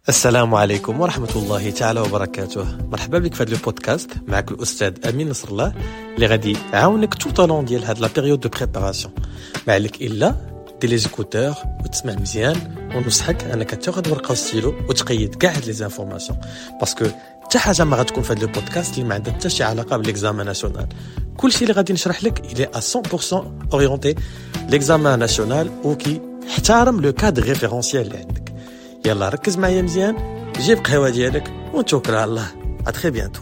السلام عليكم ورحمة الله تعالى وبركاته. مرحبا بك في هذا البودكاست. معك الأستاذ أمين نصر الله اللي غادي يعاونك tout au long ديال هاد لا بيريود دو بريباراسيون. ما عليك إلا دير لي زيكوتور وتسمع مزيان، ونصحك أنك تاخذ ورقة وستيلو وتقيد كاع هاد لي زانفورماسيون، باسكو حتى حاجة ما غتكون في هاد البودكاست اللي ما عندها حتى شي علاقة بالإكزامان ناسيونال. كلشي اللي غادي نشرح لك إلي à 100% أورينتي لإكزامان ناسيونال وكي احترم لو كادر ريفيرونسيال اللي عندك. يلا ركز معايا مزيان، جيب قهوة ديالك ونتوكل على الله. اتري بيانتو.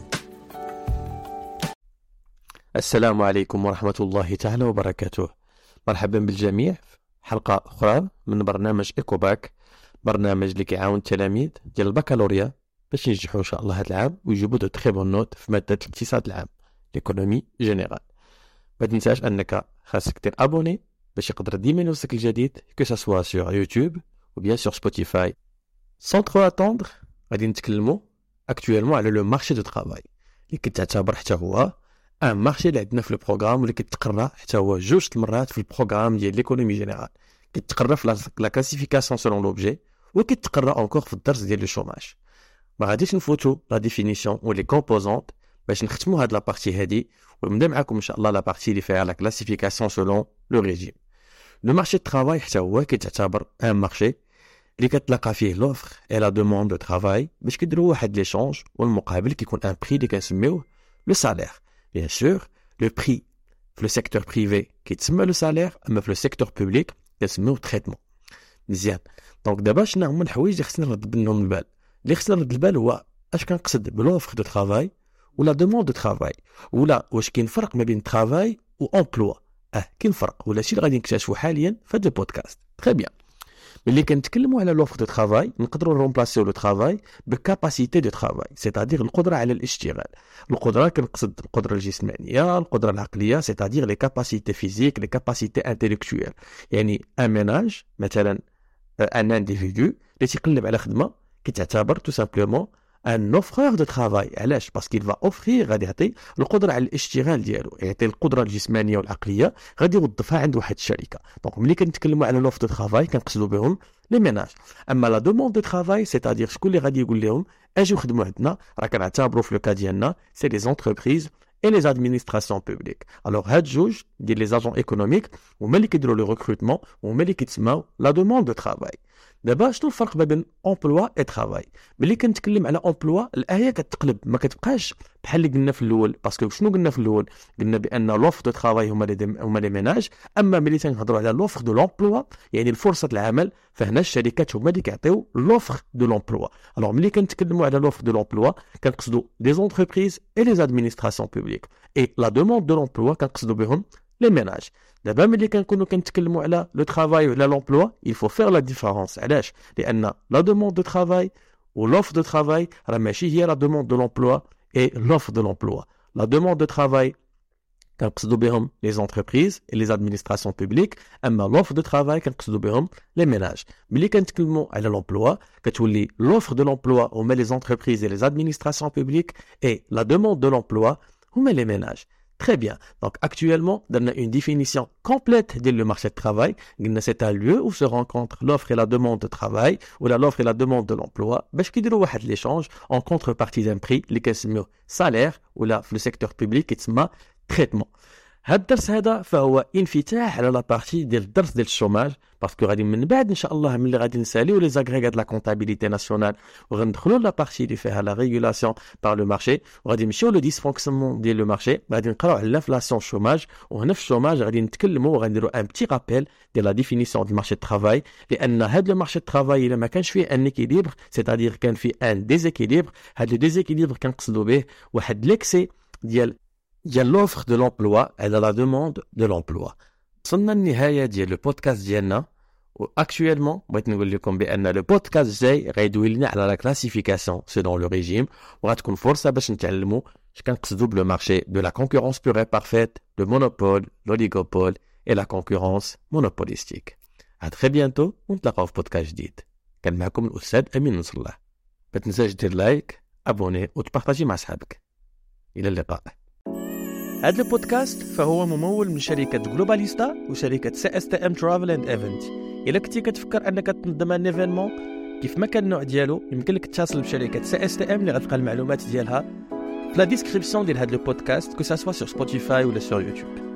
السلام عليكم ورحمة الله تعالى وبركاته. مرحبا بالجميع في حلقة أخرى من برنامج إيكوباك، برنامج اللي كيعاون التلاميذ ديال البكالوريا باش ينجحوا إن شاء الله هذا العام ويجيبوا دو تري بون نوت في مادة الاقتصاد العام ليكونومي جينيرال. ما تنساش أنك خاصك دير أبوني باش يقدر ديما يوصلك الجديد كو سوا سور يوتيوب ou bien sur Spotify. Sans trop attendre, غادي نتكلموا actuellement على لو مارشي دو طرافاي اللي كتعتبر حتى هو ان مارشي اللي عندنا في البروغرام واللي كيتقرا حتى هو جوج المرات في البروغرام ديال ليكونومي جينيرال. كيتقرا في لا كلاسيفيكاسيون سولون لوبجي وكيتقرا انكور في الدرس ديال لو شوماج. ما غاديش نفوتوا لا ديفينيسيون و لي كومبوزونت باش نختموا هاد لا بارتي هادي ونبدا معكم ان شاء الله لا بارتي اللي فيها لا كلاسيفيكاسيون سولون لو ريجيم. لو مارشي دو طرافاي حتى هو كيتعتبر ان مارشي اللي كتلقى فيه لوفر اي لا دوموند دو طرافاي باش كيديروا واحد ليشونج، والمقابل كيكون ان بري اللي كنسميوه لو سالير. بيان سور لو بري في لو سيكتور بريفي كيتسمى لو سالير، اما في لو سيكتور بوبليك كنسميوه تريتمون. مزيان. دونك دابا شنو هما الحوايج اللي خصنا نرد منهم البال؟ اللي خصنا نرد البال هو اش كنقصد بلوفر دو طرافاي ولا دوموند دو طرافاي، ولا واش كاين فرق ما بين طرافاي و امبلوا. كاين فرق، ولا شي اللي غادي نكتشفوا حاليا في هذا البودكاست. تري بيان. ملي كنتكلموا على لوفر دو طرافاي نقدروا نرومبلاسيو لو طرافاي بكاباسيتي دو طرافاي، سيتادير القدره على الاشتغال. القدره كنقصد القدره الجسمانيه، القدره العقليه، سيتادير لي كاباسيتي فيزيك، لي كاباسيتي انتيليكتويل. يعني ان ميناج مثلا ان انديفيدو اللي تيقلب على خدمه كيتعتبر تو سامبلومون ان اوفرور دو طرافاي. علاش؟ باسكو فا اوفرير، غادي يعطي القدره على الاشتغال ديالو، يعطي القدره الجسمانيه والعقليه، غادي يوظفها عند واحد الشركه. دونك ملي كنتكلموا على لوفر دو طرافاي كنقصدوا بهم لي ميناج. اما لا دوموند دو طرافاي سيتادير شكون اللي غادي يقول لهم اجيو خدموا عندنا، راه كنعتبروا في لو كا ديالنا سي لي زونتربريز et les administrations publiques. Alors هاد جوج ديال لي زاجون ايكونوميك هما اللي كيديروا لو ريكروتمون وهما اللي كيتسماو لا دوموند دو طرافاي. دابا شنو الفرق بين امبلوا اي طرافاي؟ ملي كنتكلم على امبلوا الايه كتقلب، ما كتبقاش بحال اللي قلنا في الاول. باسكو شنو قلنا في الاول؟ قلنا بان لوفر دو طرافاي هما لي ميناج، اما ملي تنهضروا على لوفر دو لومبلوا يعني الفرصه العمل، فهنا الشركات هما اللي كيعطيو لوفر دو لومبلوا. الوغ ملي كنتكلموا على لوفر دو لومبلوا كنقصدوا لي زونتربريز اي لي ادمينستراسيون بوبليك، اي لا دوموند دو لومبلوا كنقصدوا بهم لي ميناج. دابا ملي كنكونوا كنتكلموا على لو طرافاي وعلى لومبلوا il faut faire la différence. علاش؟ لان لا دوموند دو طرافاي و لوفر دو طرافاي راه ماشي هي لا دوموند دو لومبلوا اي لوفر دو لومبلوا. لا دوموند دو طرافاي كنقصدوا بهم لي زونتربريز اي لي ادمينستراسيون بوبليك، اما لوفر دو طرافاي كنقصدوا بهم لي ميناج. ملي كنتكلموا على لومبلوا كتولي لوفر دو لومبلوا هما لي زونتربريز اي لي ادمينستراسيون بوبليك، اي لا دوموند دو لومبلوا هما لي ميناج. Très bien. Donc actuellement, on a une définition complète de le marché de travail. C'est un lieu où se rencontrent l'offre et la demande de travail, ou l'offre et la demande de l'emploi. باش كيديروا واحد l'échange en contrepartie d'un prix اللي كنسميوه salaire ولا في le secteur public يتسمى traitement. هاد الدرس هذا فهو انفتاح على لا بارتي ديال الدرس ديال الشوماج، باسكو غادي من بعد ان شاء الله ملي غادي نساليو لي زاغريغات لا كونطابيليتي ناسيونال وغندخلوا لا بارتي اللي فيها لا ريغولاسيون بار لو مارشي، وغادي نمشيو لو ديسفونكسيونمون ديال لو مارشي، غادي نقراو على لانفلاسيون شوماج. وهنا في الشوماج غادي نتكلموا وغنديروا ان بتي رابيل ديال لا ديفينيسيون ديال مارشي دو طرافاي، لان هاد لو مارشي دو طرافاي الا ما كانش فيه ان ايكيليبر سيتادير كان فيه ان ديزيكيليبر. هاد لو ديزيكيليبر كنقصدوا به واحد ليكسي ديال l'offre de l'emploi et de la demande de l'emploi. وصلنا النهاية ديال لو بودكاست ديالنا، واكtuellement بغيت نقول لكم بان لو بودكاست جاي غيدوي لنا على لا كلاسيفيكاسيون سيلون لو ريجيم، وغتكون فرصة باش نتعلموا اش كنقصدوا بلو مارشي دو لا كونكورونس بور اي بارفيت، لو مونوبول، لوليغوبول اي لا كونكورونس مونوبوليستيك. ا تري بيانتو ونتلاقاو في بودكاست جديد. كان معكم الاستاذ امين نصر الله. ما تنساش دير لايك، ابوني وتبارطاجي مع صحابك. الى اللقاء. هذا البودكاست فهو ممول من شركة جلوباليستا وشركة CSTM Travel and Event. إلا كنتي كتفكر أنك تنظم ان ايفينمون كيف ما كان النوع ديالو يمكن لك تتصل بشركه CSTM اللي غتلقى المعلومات ديالها في لا ديسكريبسيون ديال هذا البودكاست كو سا سوا سور سبوتيفاي ولا سور يوتيوب.